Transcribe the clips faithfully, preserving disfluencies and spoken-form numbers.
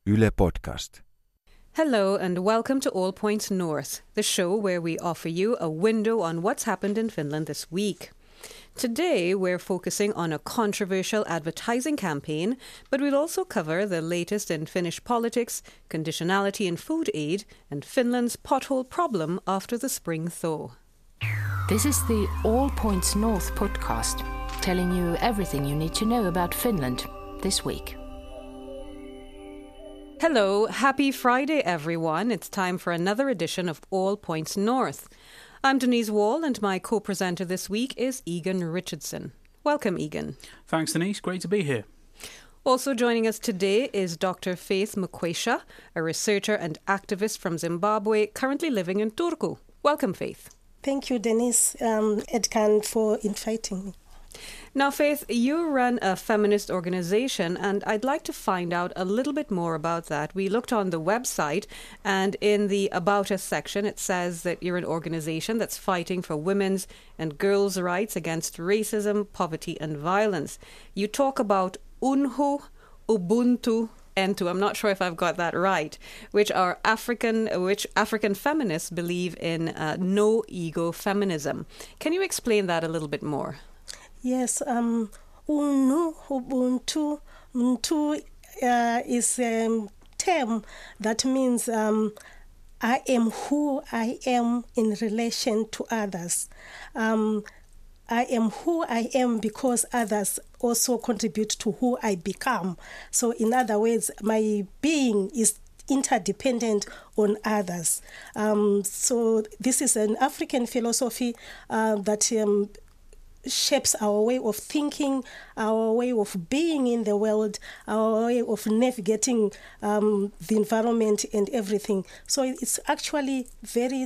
Yle Podcast. Hello and welcome to All Points North, the show where we offer you a window on what's happened in Finland this week. Today we're focusing on a controversial advertising campaign, but we'll also cover the latest in Finnish politics, conditionality in food aid, and Finland's pothole problem after the spring thaw. This is the All Points North podcast, telling you everything you need to know about Finland this week. Hello, happy Friday everyone. It's time for another edition of All Points North. I'm Denise Wall and my co-presenter this week is Egan Richardson. Welcome, Egan. Thanks, Denise. Great to be here. Also joining us today is Doctor Faith Mukwesha, a researcher and activist from Zimbabwe, currently living in Turku. Welcome, Faith. Thank you, Denise um, Edkan, for inviting me. Now, Faith, you run a feminist organization, and I'd like to find out a little bit more about that. We looked on the website, and in the About Us section, it says that you're an organization that's fighting for women's and girls' rights against racism, poverty, and violence. You talk about Unho, Ubuntu, Entu, I'm not sure if I've got that right, which are African, which African feminists believe in uh, no-ego feminism. Can you explain that a little bit more? Yes, um, Unu, Ubuntu, Ubuntu uh, is a term that means um, I am who I am in relation to others. Um, I am who I am because others also contribute to who I become. So in other words, my being is interdependent on others. Um, so this is an African philosophy uh, that um, shapes our way of thinking, our way of being in the world, our way of navigating um, the environment and everything. So it's actually very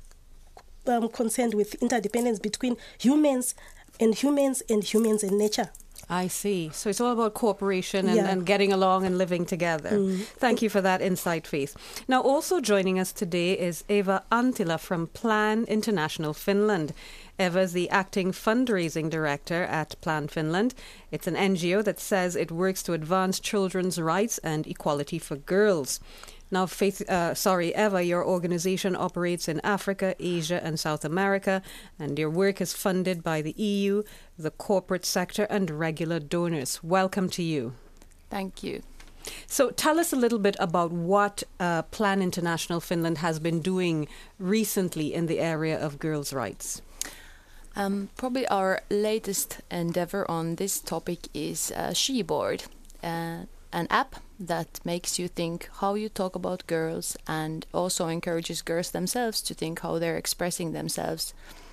um, concerned with interdependence between humans and humans and humans and nature. I see. So it's all about cooperation and, Yeah. and getting along and living together. Mm. Thank you for that insight, Faith. Now, also joining us today is Eva Antila from Plan International Finland. Eva is the acting fundraising director at Plan Finland. It's an N G O that says it works to advance children's rights and equality for girls. Now, Faith, uh, sorry, Eva, your organization operates in Africa, Asia, and South America, and your work is funded by the E U, the corporate sector, and regular donors. Welcome to you. Thank you. So tell us a little bit about what uh, Plan International Finland has been doing recently in the area of girls' rights. Um, probably our latest endeavor on this topic is uh, Sheboard, uh, an app that makes you think how you talk about girls and also encourages girls themselves to think how they're expressing themselves.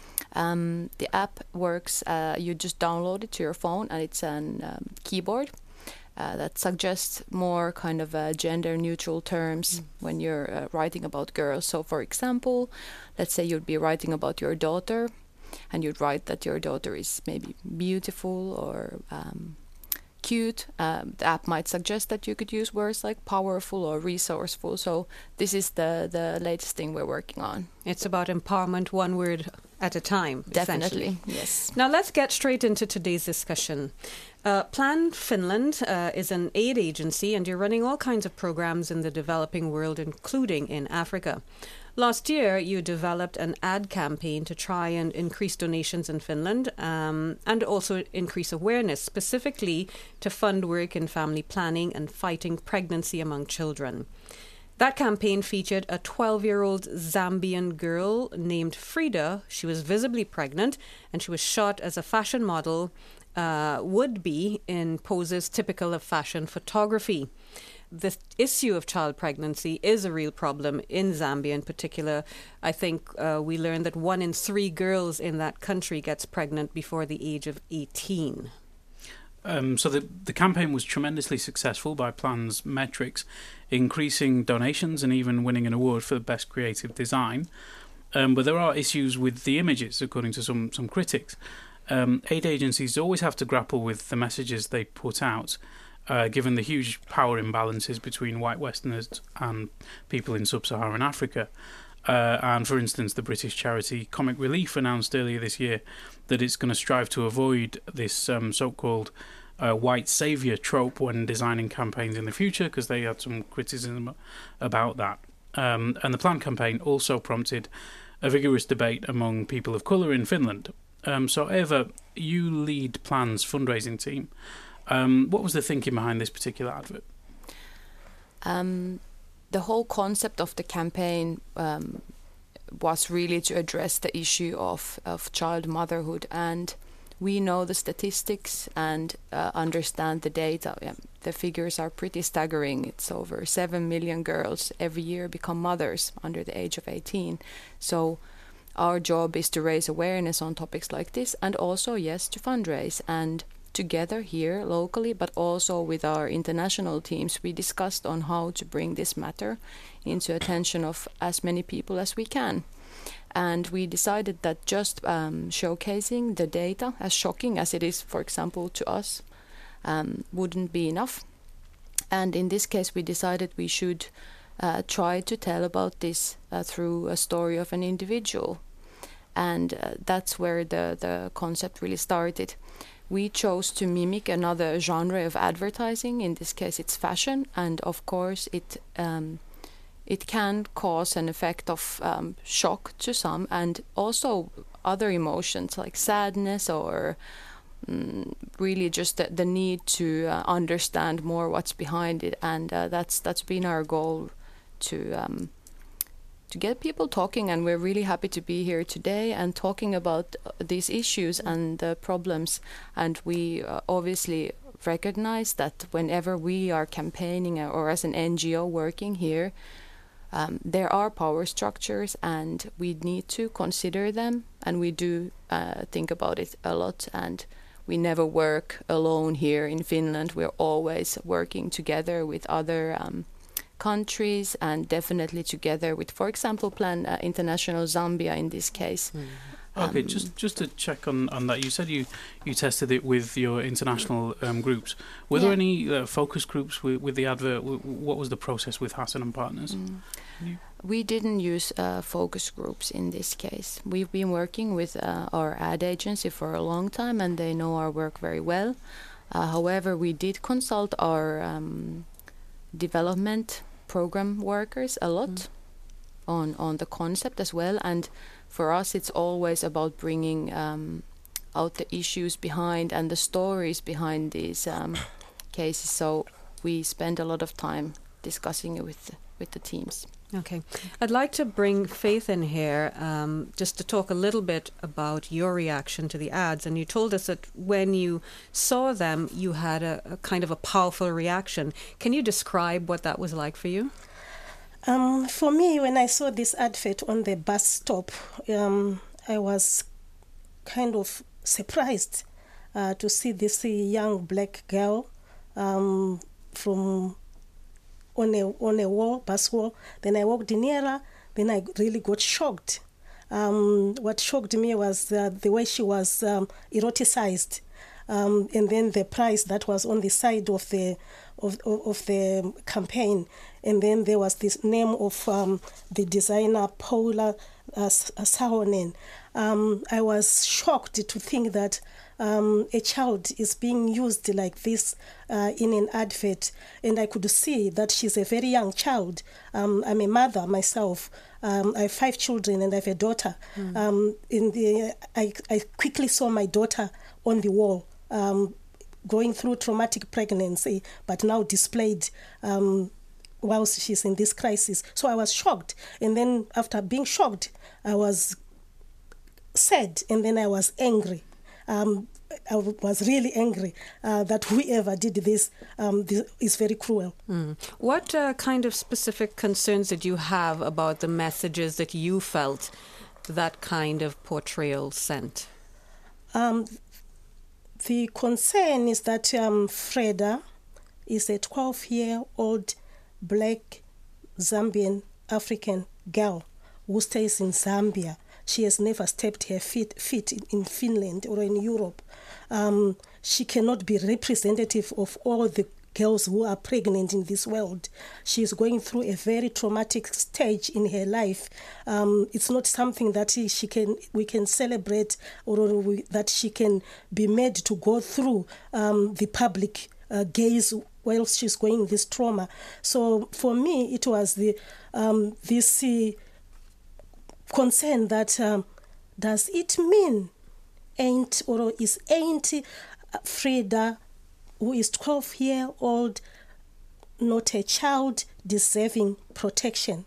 Um, the app works, uh, you just download it to your phone and it's a um, keyboard uh, that suggests more kind of uh, gender neutral terms mm. when you're uh, writing about girls. So for example, let's say you'd be writing about your daughter and you'd write that your daughter is maybe beautiful or um, cute. Um, the app might suggest that you could use words like powerful or resourceful. So this is the, the latest thing we're working on. It's about empowerment, one word at a time. Definitely, yes. Now let's get straight into today's discussion. Uh, Plan Finland uh, is an aid agency and you're running all kinds of programs in the developing world, including in Africa. Last year, you developed an ad campaign to try and increase donations in Finland um, and also increase awareness, specifically to fund work in family planning and fighting pregnancy among children. That campaign featured a twelve-year-old Zambian girl named Frida. She was visibly pregnant and she was shot as a fashion model uh, would be in poses typical of fashion photography. The issue of child pregnancy is a real problem in Zambia in particular. I think uh, we learned that one in three girls in that country gets pregnant before the age of eighteen. Um, so the, the campaign was tremendously successful by Plan's metrics, increasing donations and even winning an award for the best creative design. Um, but there are issues with the images, according to some, some critics. Um, aid agencies always have to grapple with the messages they put out, uh, given the huge power imbalances between white Westerners and people in sub-Saharan Africa. Uh, and for instance, the British charity Comic Relief announced earlier this year that it's going to strive to avoid this um, so-called uh, white savior trope when designing campaigns in the future, because they had some criticism about that. Um, and the Plan campaign also prompted a vigorous debate among people of colour in Finland. Um, so, Eva, you lead Plan's fundraising team. Um, what was the thinking behind this particular advert? Um, the whole concept of the campaign um, was really to address the issue of, of child motherhood, and we know the statistics and uh, understand the data. Yeah, the figures are pretty staggering. It's over seven million girls every year become mothers under the age of eighteen. So our job is to raise awareness on topics like this, and also, yes, to fundraise. And together here locally, but also with our international teams, we discussed on how to bring this matter into attention of as many people as we can. And we decided that just um, showcasing the data, as shocking as it is, for example, to us, um, wouldn't be enough. And in this case, we decided we should uh, try to tell about this uh, through a story of an individual. And uh, that's where the, the concept really started. We chose to mimic another genre of advertising. In this case, it's fashion. And of course, it um, it can cause an effect of um, shock to some, and also other emotions like sadness or um, really just the, the need to uh, understand more what's behind it. And uh, that's that's been our goal, to um, to get people talking. And we're really happy to be here today and talking about these issues and the problems. And we uh, obviously recognize that whenever we are campaigning or as an N G O working here, Um, there are power structures and we need to consider them, and we do uh, think about it a lot. And we never work alone here in Finland. We're always working together with other um, countries, and definitely together with, for example, Plan uh, International Zambia in this case. Mm. Okay, um, just just to check on, on that, you said you, you tested it with your international um, groups. Were yeah. there any uh, focus groups with, with the advert? What was the process with Hassan and Partners? Mm. We didn't use uh, focus groups in this case. We've been working with uh, our ad agency for a long time, and they know our work very well. Uh, however, we did consult our um, development program workers a lot mm. on, on the concept as well. And for us, it's always about bringing um, out the issues behind and the stories behind these um, cases. So we spend a lot of time discussing it with, with the teams. Okay. I'd like to bring Faith in here um, just to talk a little bit about your reaction to the ads. And you told us that when you saw them, you had a, a kind of a powerful reaction. Can you describe what that was like for you? Um, for me, when I saw this advert on the bus stop, um, I was kind of surprised uh, to see this young black girl um, from on a on a wall, bus wall. Then I walked nearer. Then I really got shocked. Um, what shocked me was uh, the way she was um, eroticized, um, and then the price that was on the side of the of of, of the campaign, and then there was this name of um, the designer Paula uh, Sahonen. Um, I was shocked to think that um, a child is being used like this uh, in an advert, and I could see that she's a very young child. Um, I'm a mother myself. Um, I have five children and I have a daughter. Mm. Um, in the, I, I quickly saw my daughter on the wall, um, going through traumatic pregnancy, but now displayed um, whilst she's in this crisis. So I was shocked, and then after being shocked, I was sad, and then I was angry. Um, I was really angry uh, that whoever did this, um, this is very cruel. Mm. What uh, kind of specific concerns did you have about the messages that you felt that kind of portrayal sent? Um, the concern is that um, Freda is a twelve-year-old black Zambian African girl who stays in Zambia. She has never stepped her feet, feet in Finland or in Europe. Um, she cannot be representative of all the girls who are pregnant in this world. She's going through a very traumatic stage in her life. Um, it's not something that she can we can celebrate or, or we, that she can be made to go through um, the public uh, gaze while she's going this trauma. So for me, it was the um, this uh, concern that um, does it mean ain't or is ain't Frida, who is twelve year old, not a child deserving protection?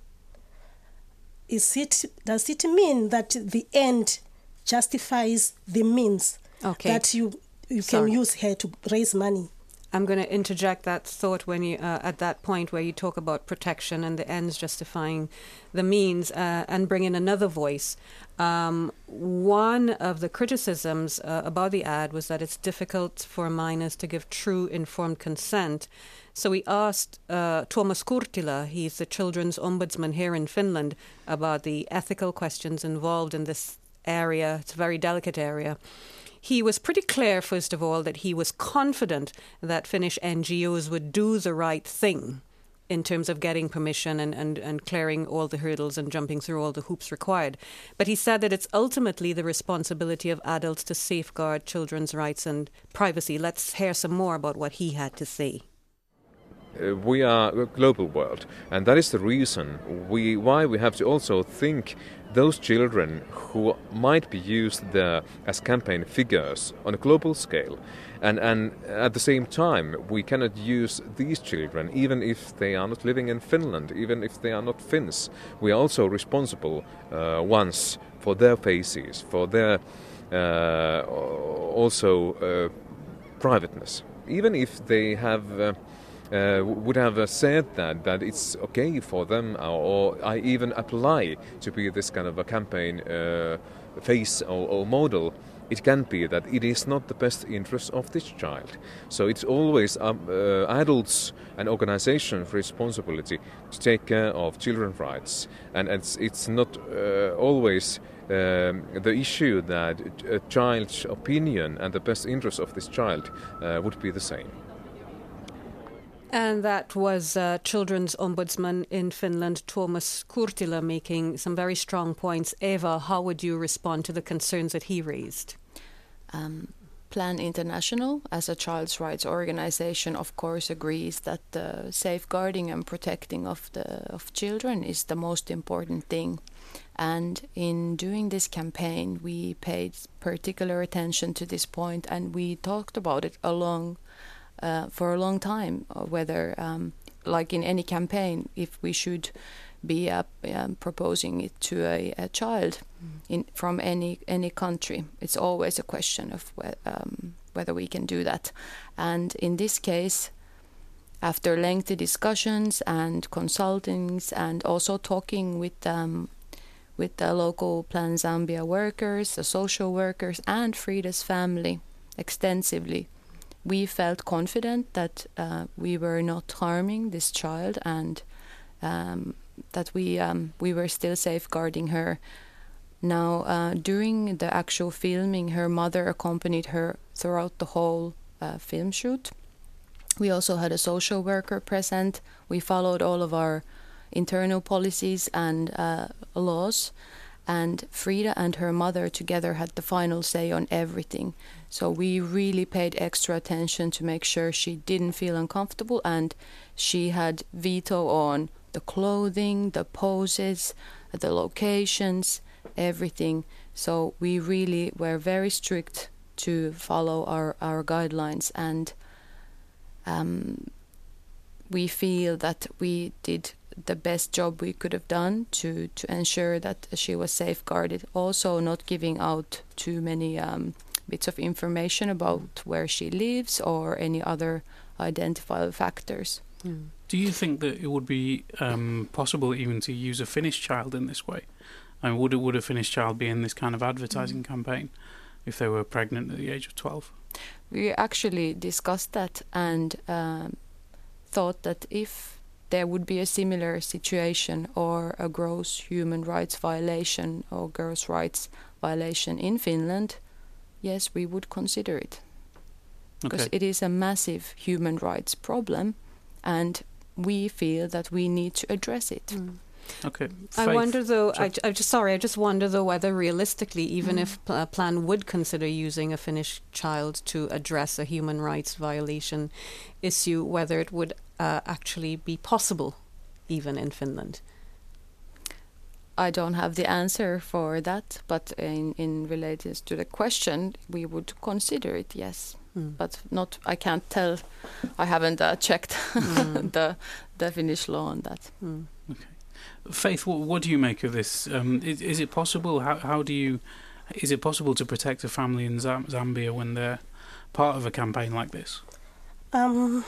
Is it does it mean that the end justifies the means? Okay. That you you Sorry. can use her to raise money? I'm going to interject that thought when you uh, at that point where you talk about protection and the ends justifying the means, uh, and bring in another voice. Um, one of the criticisms uh, about the ad was that it's difficult for minors to give true informed consent. So we asked uh, Tuomas Kurttila, he's the children's ombudsman here in Finland, about the ethical questions involved in this area. It's a very delicate area. He was pretty clear, first of all, that he was confident that Finnish N G Os would do the right thing in terms of getting permission and, and, and clearing all the hurdles and jumping through all the hoops required. But he said that it's ultimately the responsibility of adults to safeguard children's rights and privacy. Let's hear some more about what he had to say. Uh, we are a global world, and that is the reason we why we have to also think those children who might be used there as campaign figures on a global scale. And, and at the same time, we cannot use these children, even if they are not living in Finland, even if they are not Finns. We are also responsible uh, ones for their faces, for their uh, also uh, privateness. Even if they have uh, uh, would have uh, said that that it's okay for them, or, or I even apply to be this kind of a campaign uh, face or, or model, it can be that it is not the best interest of this child. So it's always um, uh, adults and organizations' responsibility to take care of children's rights. And it's, it's not uh, always um, the issue that a child's opinion and the best interest of this child uh, would be the same. And that was uh, Children's Ombudsman in Finland, Tuomas Kurttila, making some very strong points. Eva, how would you respond to the concerns that he raised? Um, Plan International, as a child's rights organization, of course agrees that the safeguarding and protecting of the of children is the most important thing. And in doing this campaign, we paid particular attention to this point, and we talked about it along Uh, for a long time, whether, um, like in any campaign, if we should be uh, um, proposing it to a, a child mm. in, from any any country. It's always a question of whe- um, whether we can do that. And in this case, after lengthy discussions and consultings, and also talking with um, with the local Plan Zambia workers, the social workers, and Frida's family extensively, we felt confident that uh, we were not harming this child, and um, that we um, we were still safeguarding her. Now, uh, during the actual filming, her mother accompanied her throughout the whole uh, film shoot. We also had a social worker present. We followed all of our internal policies and uh, laws. And Frida and her mother together had the final say on everything. So we really paid extra attention to make sure she didn't feel uncomfortable, and she had veto on the clothing, the poses, the locations, everything. So we really were very strict to follow our, our guidelines, and um, we feel that we did the best job we could have done to, to ensure that she was safeguarded. Also not giving out too many um, bits of information about where she lives or any other identifiable factors. Mm. Do you think that it would be um, possible even to use a Finnish child in this way? I mean, would, it, would a Finnish child be in this kind of advertising mm. campaign if they were pregnant at the age of twelve? We actually discussed that and um, thought that if there would be a similar situation or a gross human rights violation or girls' rights violation in Finland, yes, we would consider it. because Okay. it is a massive human rights problem, and we feel that we need to address it. Okay. I Faith, wonder though, so- I, I just sorry, I just wonder though whether realistically, even Mm. if P- uh, Plan would consider using a Finnish child to address a human rights violation issue, whether it would uh, actually be possible even in Finland. I don't have the answer for that, but in, in related to the question, we would consider it, yes. Mm. But not, I can't tell, I haven't uh, checked Mm. the, the Finnish law on that. Mm. Faith, what, what do you make of this? Um, is, is it possible? How, how do you? Is it possible to protect a family in Zam- Zambia when they're part of a campaign like this? Um,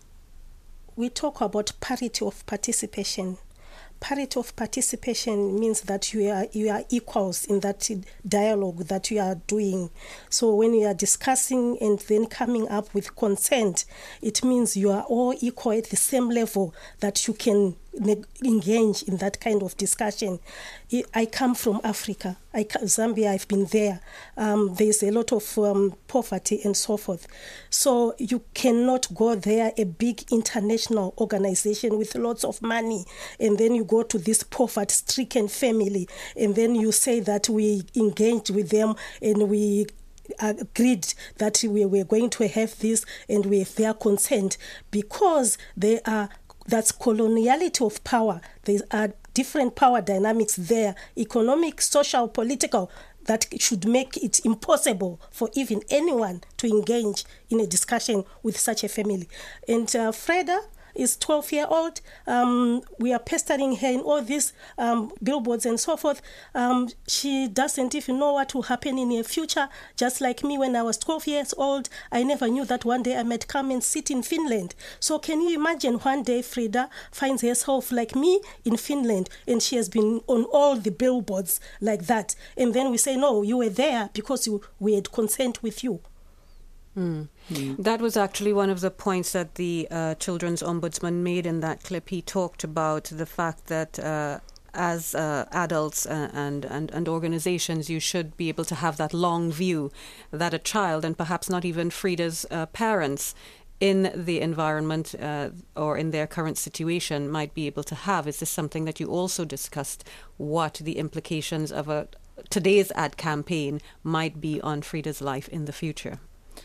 we talk about parity of participation. Parity of participation means that you are you are equals in that dialogue that you are doing. So when you are discussing and then coming up with consent, it means you are all equal at the same level that you can ne- engage in that kind of discussion. I- I come from Africa. I ca- Zambia, I've been there. Um, there's a lot of um, poverty and so forth. So you cannot go there, a big international organization with lots of money, and then you go to this poverty-stricken family, and then you say that we engaged with them and we agreed that we were going to have this and we have their consent, because they are that's coloniality of power. There are different power dynamics there, economic, social, political, that should make it impossible for even anyone to engage in a discussion with such a family. And uh, Freda is twelve year old. Um, we are pestering her in all these um, billboards and so forth. Um, she doesn't even know what will happen in her future. Just like me, when I was twelve years old, I never knew that one day I might come and sit in Finland. So can you imagine one day Frida finds herself like me in Finland, and she has been on all the billboards like that. And then we say, no, you were there because you, we had consent with you. Mm. That was actually one of the points that the uh, Children's Ombudsman made in that clip. He talked about the fact that uh, as uh, adults uh, and, and, and organizations, you should be able to have that long view that a child, and perhaps not even Frida's uh, parents, in the environment uh, or in their current situation might be able to have. Is this something that you also discussed, what the implications of a today's ad campaign might be on Frida's life in the future?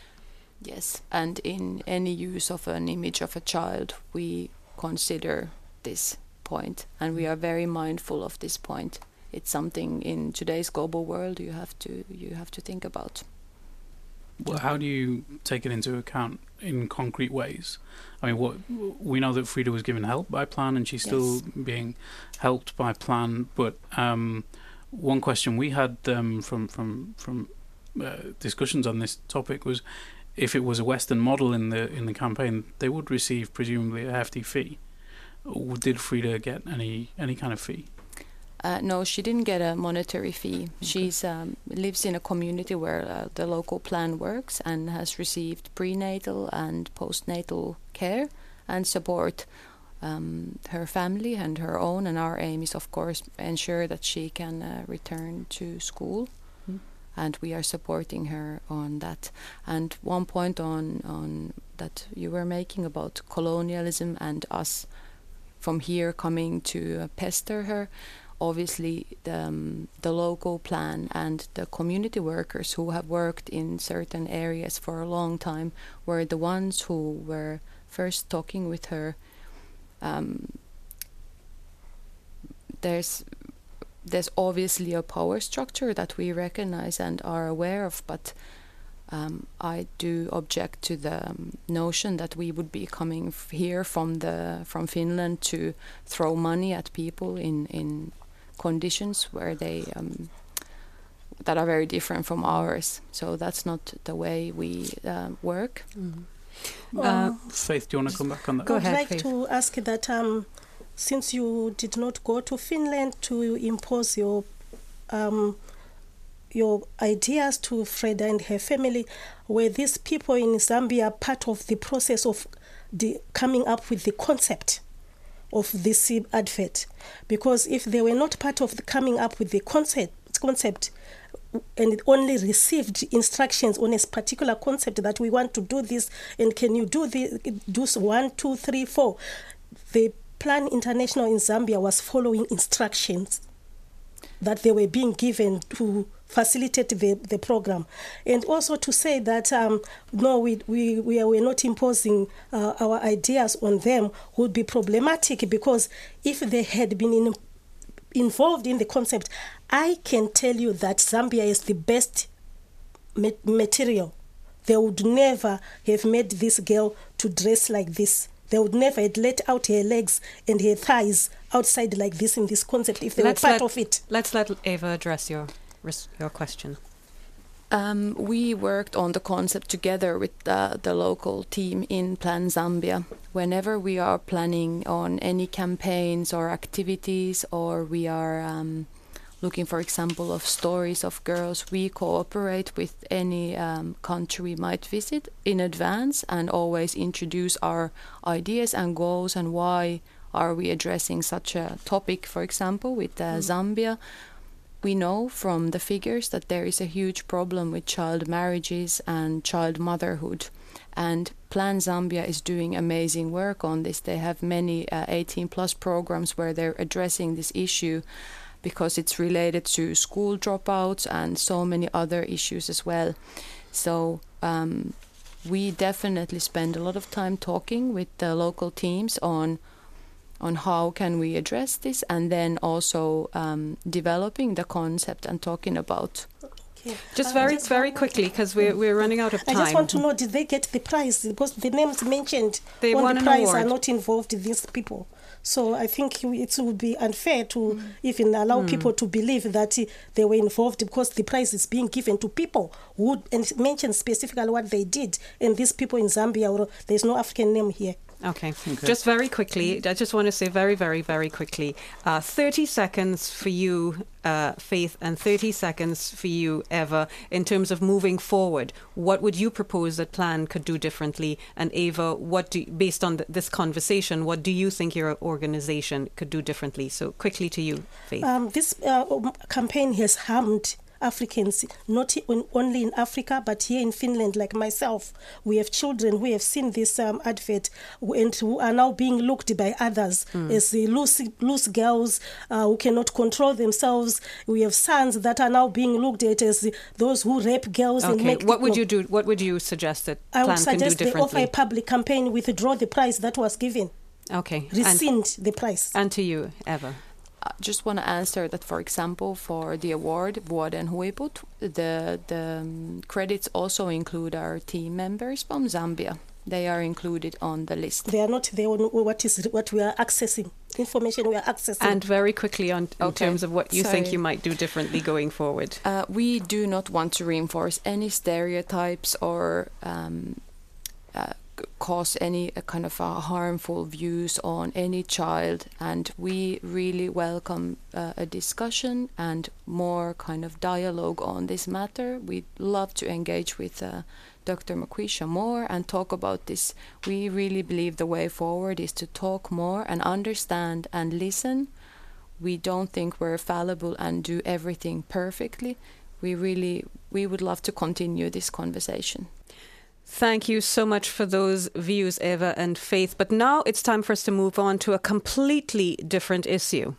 Yes, and in any use of an image of a child, we consider this point, and we are very mindful of this point. It's something in today's global world you have to you have to think about. Well, how do you take it into account in concrete ways? I mean, what we know that Frida was given help by Plan, and she's still Yes. being helped by Plan. But um, one question we had um, from from from uh, discussions on this topic was, if it was a Western model in the in the campaign, they would receive presumably a hefty fee. Did Frida get any any kind of fee? Uh, no, she didn't get a monetary fee. Okay. She's um, lives in a community where uh, the local plan works and has received prenatal and postnatal care and support. Um, her family and her own, and our aim is, of course, ensure that she can uh, return to school. Mm. And we are supporting her on that. And one point on on that you were making about colonialism and us from here coming to uh, pester her. Obviously, the, um, the local plan and the community workers who have worked in certain areas for a long time were the ones who were first talking with her. Um, there's there's obviously a power structure that we recognize and are aware of, but um, I do object to the um, notion that we would be coming f- here from the from Finland to throw money at people in in conditions where they um, that are very different from ours. So that's not the way we uh, work. Mm-hmm. Um, uh, Faith, do you want to come back on that? Go I ahead, would like Faith. to ask that um, since you did not go to Finland to impose your um, your ideas to Freda and her family, were these people in Zambia part of the process of the coming up with the concept of this advert? Because if they were not part of the coming up with the concept, concept, and only received instructions on a particular concept that we want to do this, and can you do this, do one, two, three, four. The Plan International in Zambia was following instructions that they were being given to facilitate the, the program. And also to say that, um, no, we, we, we are not imposing uh, our ideas on them would be problematic, because if they had been in, involved in the concept, I can tell you that Zambia is the best ma- material. They would never have made this girl to dress like this. They would never have let out her legs and her thighs outside like this in this concept if they let's were part let, of it. Let's let Eva address your your question. Um, we worked on the concept together with uh, the local team in Plan Zambia. Whenever we are planning on any campaigns or activities, or we are um, looking, for example, of stories of girls, we cooperate with any um, country we might visit in advance and always introduce our ideas and goals and why are we addressing such a topic, for example, with uh, mm. Zambia. We know from the figures that there is a huge problem with child marriages and child motherhood. And Plan Zambia is doing amazing work on this. They have many uh, eighteen plus programs where they're addressing this issue, because it's related to school dropouts and so many other issues as well. So um, we definitely spend a lot of time talking with the local teams on on how can we address this, and then also um, developing the concept and talking about. Okay. Just Uh, very, just very one- quickly, because we're, we're running out of I time. just want to know, did they get the prize? Because the names mentioned They on won the an prize award. are not involved, these people. So I think it would be unfair to mm. even allow mm. people to believe that uh, they were involved, because the prize is being given to people who and mention specifically what they did. And these people in Zambia, or there's no African name here. Okay. okay. Just very quickly, I just want to say very, very, very quickly, uh, thirty seconds for you, uh, Faith, and thirty seconds for you, Eva, in terms of moving forward. What would you propose that Plan could do differently? And Eva, what do, based on th- this conversation, what do you think your organisation could do differently? So quickly to you, Faith. Um, this uh, campaign has harmed Africans, not in, only in Africa, but here in Finland, like myself. We have children who have seen this um, advert and who are now being looked by others mm. as the loose, loose girls uh, who cannot control themselves. We have sons that are now being looked at as the, those who rape girls. Okay. And make what would you do? What would you suggest that I Plan would can suggest do they offer differently? a public campaign, withdraw the prize that was given. Okay. Rescind and, the prize. And to you, Eva. I just want to answer that, for example, for the award, Vuoden Huiput, the, the um, credits also include our team members from Zambia. They are included on the list. They are not there on what is what we are accessing, information we are accessing. And very quickly on in okay. terms of what you Sorry. think you might do differently going forward. Uh, we do not want to reinforce any stereotypes or um, uh, cause any uh, kind of uh, harmful views on any child, and we really welcome uh, a discussion and more kind of dialogue on this matter. We'd love to engage with uh, Doctor Maquisha more and talk about this. We really believe the way forward is to talk more and understand and listen. We don't think we're fallible and do everything perfectly. We really, we would love to continue this conversation. Thank you so much for those views, Eva and Faith. But now it's time for us to move on to a completely different issue.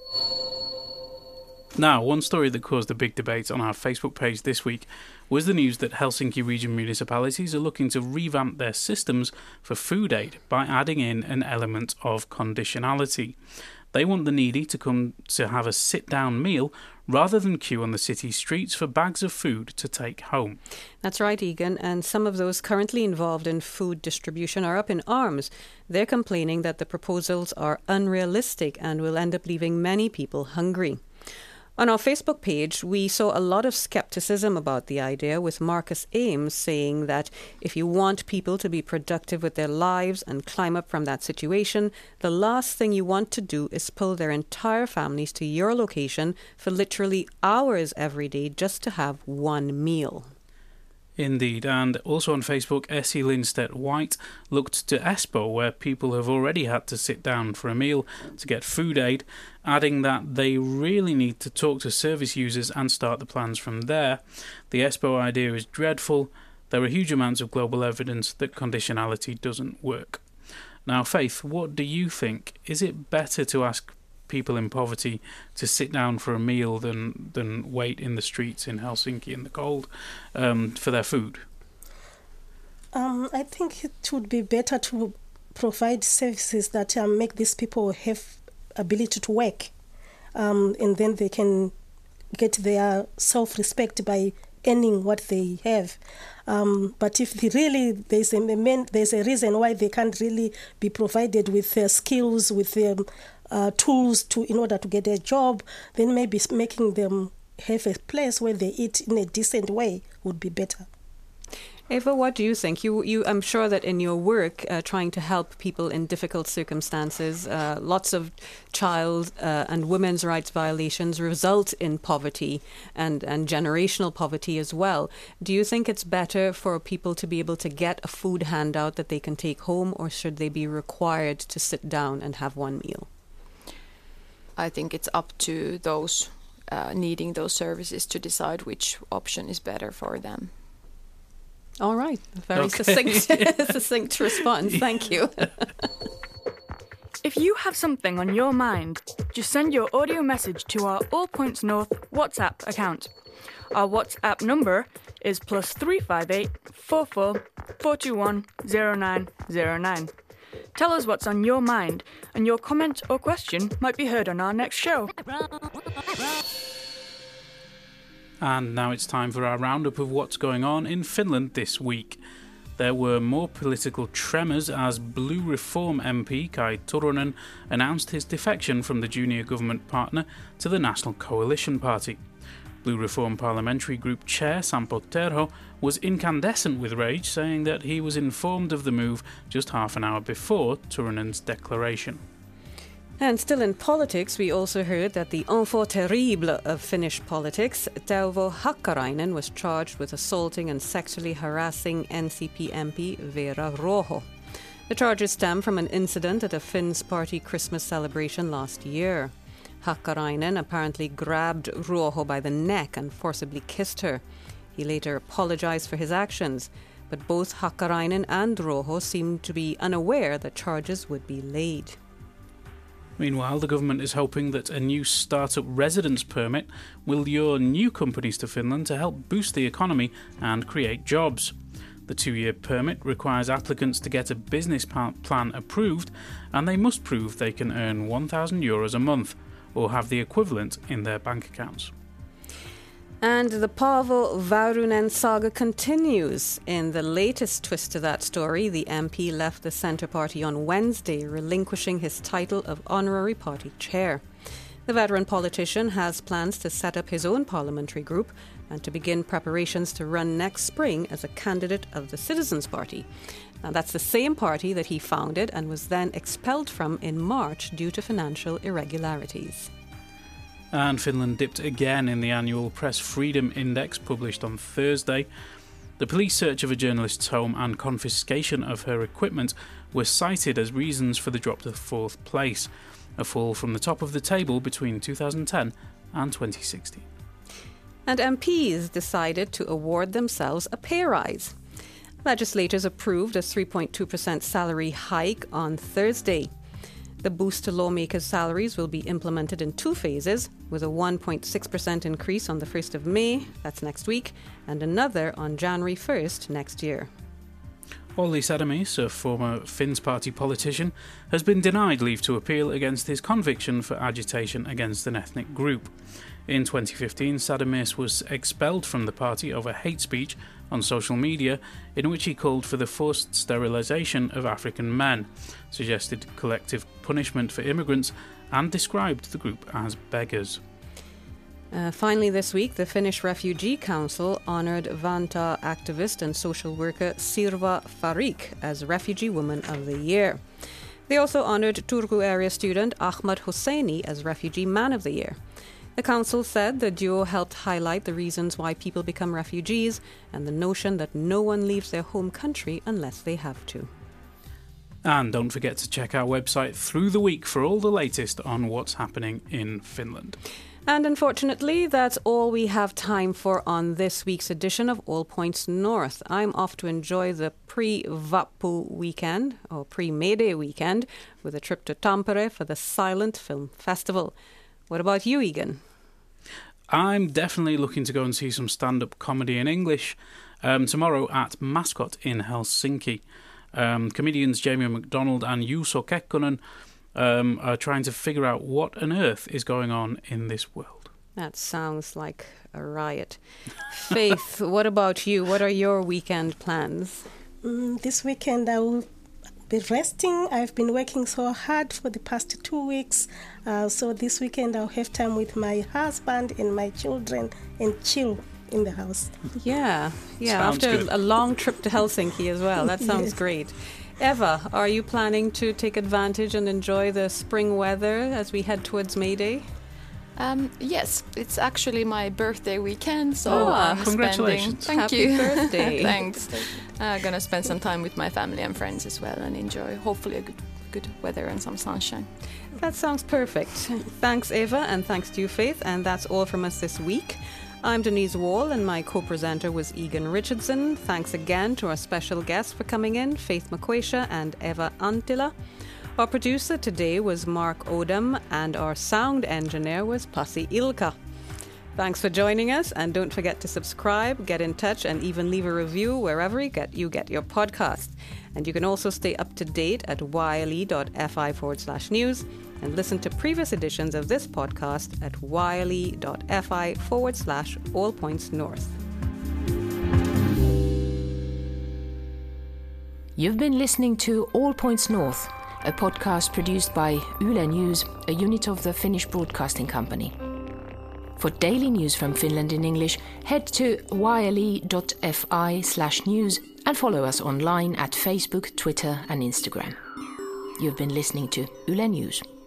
Now, one story that caused a big debate on our Facebook page this week was the news that Helsinki region municipalities are looking to revamp their systems for food aid by adding in an element of conditionality. They want the needy to come to have a sit-down meal rather than queue on the city streets for bags of food to take home. That's right, Egan, and some of those currently involved in food distribution are up in arms. They're complaining that the proposals are unrealistic and will end up leaving many people hungry. On our Facebook page, we saw a lot of skepticism about the idea, with Marcus Ames saying that if you want people to be productive with their lives and climb up from that situation, the last thing you want to do is pull their entire families to your location for literally hours every day just to have one meal. Indeed, and also on Facebook, Essie Lindstedt White looked to Espo, where people have already had to sit down for a meal to get food aid, adding that they really need to talk to service users and start the plans from there. The Espo idea is dreadful. There are huge amounts of global evidence that conditionality doesn't work. Now, Faith, what do you think? Is it better to ask people in poverty to sit down for a meal than than wait in the streets in Helsinki in the cold um, for their food? Um, I think it would be better to provide services that um, make these people have ability to work, um, and then they can get their self-respect by earning what they have. Um, but if they really there's a main, there's a reason why they can't really be provided with their skills, with their uh, tools to in order to get a job, then maybe making them have a place where they eat in a decent way would be better. Eva, what do you think? You, you, I'm sure that in your work, uh, trying to help people in difficult circumstances, uh, lots of child uh, and women's rights violations result in poverty and, and generational poverty as well. Do you think it's better for people to be able to get a food handout that they can take home, or should they be required to sit down and have one meal? I think it's up to those uh, needing those services to decide which option is better for them. All right. Very okay. succinct, succinct response. Thank you. If you have something on your mind, just send your audio message to our All Points North WhatsApp account. Our WhatsApp number is plus three five eight four four four two one zero nine zero nine. Tell us what's on your mind, and your comment or question might be heard on our next show. And now it's time for our roundup of what's going on in Finland this week. There were more political tremors as Blue Reform M P Kai Turunen announced his defection from the junior government partner to the National Coalition Party. Blue Reform Parliamentary Group Chair Sampo Terho was incandescent with rage, saying that he was informed of the move just half an hour before Turunen's declaration. And still in politics, we also heard that the enfant terrible of Finnish politics, Teuvo Hakkarainen, was charged with assaulting and sexually harassing N C P M P Veera Ruoho. The charges stem from an incident at a Finns party Christmas celebration last year. Hakkarainen apparently grabbed Ruoho by the neck and forcibly kissed her. He later apologized for his actions, but both Hakkarainen and Ruoho seemed to be unaware that charges would be laid. Meanwhile, the government is hoping that a new startup residence permit will lure new companies to Finland to help boost the economy and create jobs. The two-year permit requires applicants to get a business plan approved, and they must prove they can earn one thousand euros a month, or have the equivalent in their bank accounts. And the Paavo Väyrynen saga continues. In the latest twist to that story, the M P left the Centre Party on Wednesday, relinquishing his title of honorary party chair. The veteran politician has plans to set up his own parliamentary group and to begin preparations to run next spring as a candidate of the Citizens Party. Now, that's the same party that he founded and was then expelled from in March due to financial irregularities. And Finland dipped again in the annual Press Freedom Index published on Thursday. The police search of a journalist's home and confiscation of her equipment were cited as reasons for the drop to fourth place, a fall from the top of the table between two thousand ten and twenty sixteen. And M Ps decided to award themselves a pay rise. Legislators approved a three point two percent salary hike on Thursday. The boost to lawmakers' salaries will be implemented in two phases, with a one point six percent increase on the first of May, that's next week, and another on January first next year. Olli Sadamies, a former Finns party politician, has been denied leave to appeal against his conviction for agitation against an ethnic group. In twenty fifteen, Sadamies was expelled from the party over hate speech on social media, in which he called for the forced sterilisation of African men, suggested collective punishment for immigrants, and described the group as beggars. Uh, finally this week, the Finnish Refugee Council honoured Vantaa activist and social worker Sirva Farik as Refugee Woman of the Year. They also honoured Turku area student Ahmad Hosseini as Refugee Man of the Year. The council said the duo helped highlight the reasons why people become refugees and the notion that no one leaves their home country unless they have to. And don't forget to check our website through the week for all the latest on what's happening in Finland. And unfortunately, that's all we have time for on this week's edition of All Points North. I'm off to enjoy the pre-Vappu weekend, or pre-May Day weekend, with a trip to Tampere for the Silent Film Festival. What about you, Egan? I'm definitely looking to go and see some stand-up comedy in English um, tomorrow at Mascot in Helsinki. Um, comedians Jamie McDonald and Juuso Kekkonen Um, are trying to figure out what on earth is going on in this world. That sounds like a riot. Faith, what about you? What are your weekend plans? Mm, this weekend I will be resting. I've been working so hard for the past two weeks. Uh, so this weekend I'll have time with my husband and my children and chill in the house. Yeah, yeah. Sounds After good. a long trip to Helsinki as well. That sounds Yes. great. Eva, are you planning to take advantage and enjoy the spring weather as we head towards May Day? Um, yes, it's actually my birthday weekend, so Oh, I'm congratulations. spending. Thank Happy you. birthday. Thanks. I'm gonna spend some time with my family and friends as well, and enjoy hopefully a good, good weather and some sunshine. That sounds perfect. Thanks, Eva, and thanks to you, Faith. And that's all from us this week. I'm Denise Wall, and my co-presenter was Egan Richardson. Thanks again to our special guests for coming in, Faith McQuaisha and Eva Antila. Our producer today was Mark Odom, and our sound engineer was Pasi Ilka. Thanks for joining us, and don't forget to subscribe, get in touch, and even leave a review wherever you get, you get your podcast. And you can also stay up to date at yle.fi forward slash news and listen to previous editions of this podcast at yle.fi forward slash all points north. You've been listening to All Points North, a podcast produced by Yle News, a unit of the Finnish Broadcasting Company. For daily news from Finland in English, head to yle.fi slash news and follow us online at Facebook, Twitter and Instagram. You've been listening to Yle News.